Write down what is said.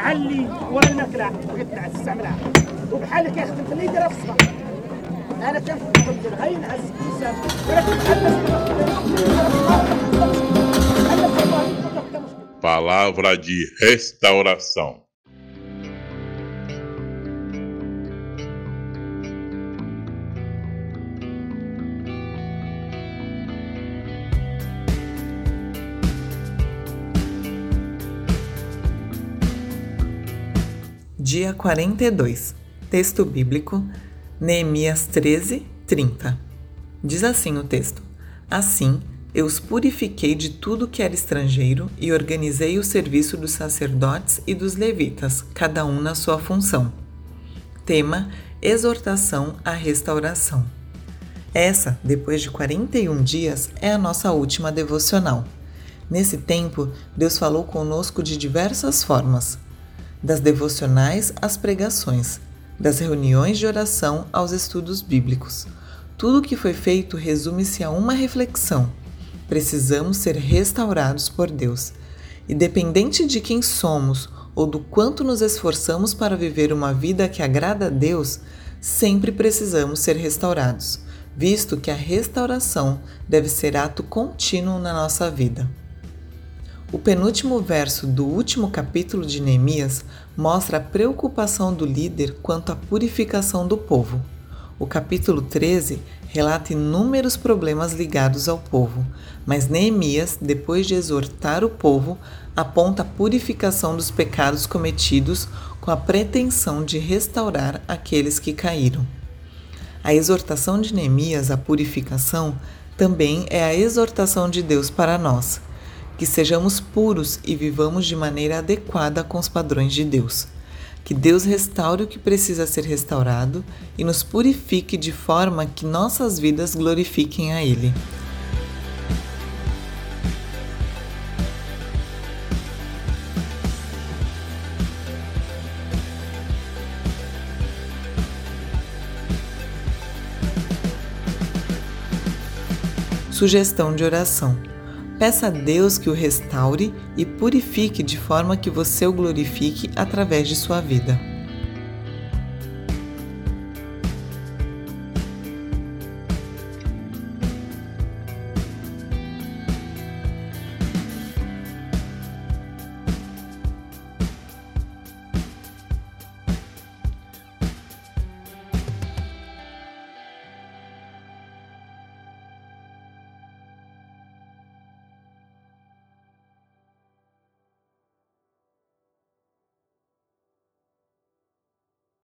بحال اللي ورا الماكله بغيت تستعملها وبحال اللي كيخدم في اللي يديرها في الصباح. انا كنفكر غير نعس الانسان ولكن Palavra de restauração. Dia 42. Texto bíblico, Neemias 13, 30. Diz assim o texto: Assim, eu os purifiquei de tudo que era estrangeiro e organizei o serviço dos sacerdotes e dos levitas, cada um na sua função. Tema: exortação à restauração. Essa, depois de 41 dias, é a nossa última devocional. Nesse tempo, Deus falou conosco de diversas formas. Das devocionais às pregações, das reuniões de oração aos estudos bíblicos. Tudo o que foi feito resume-se a uma reflexão. Precisamos ser restaurados por Deus. Independente de quem somos ou do quanto nos esforçamos para viver uma vida que agrada a Deus, sempre precisamos ser restaurados, visto que a restauração deve ser ato contínuo na nossa vida. O penúltimo verso do último capítulo de Neemias mostra a preocupação do líder quanto à purificação do povo. O capítulo 13 relata inúmeros problemas ligados ao povo, mas Neemias, depois de exortar o povo, aponta a purificação dos pecados cometidos com a pretensão de restaurar aqueles que caíram. A exortação de Neemias à purificação também é a exortação de Deus para nós. Que sejamos puros e vivamos de maneira adequada com os padrões de Deus. Que Deus restaure o que precisa ser restaurado e nos purifique de forma que nossas vidas glorifiquem a Ele. Sugestão de oração. Peça a Deus que o restaure e purifique de forma que você o glorifique através de sua vida.